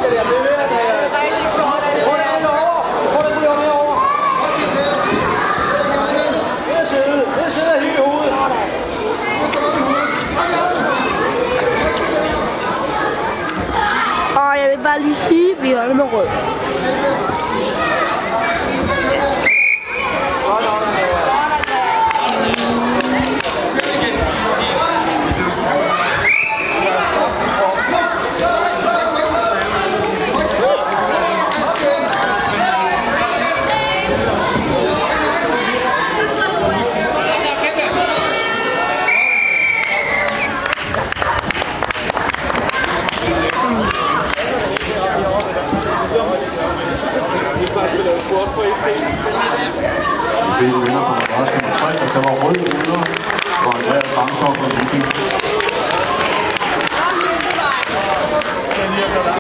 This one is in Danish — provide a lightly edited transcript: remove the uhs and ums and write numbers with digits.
Og jeg vil bare lige sige, at vi holder med rød. Vi vinder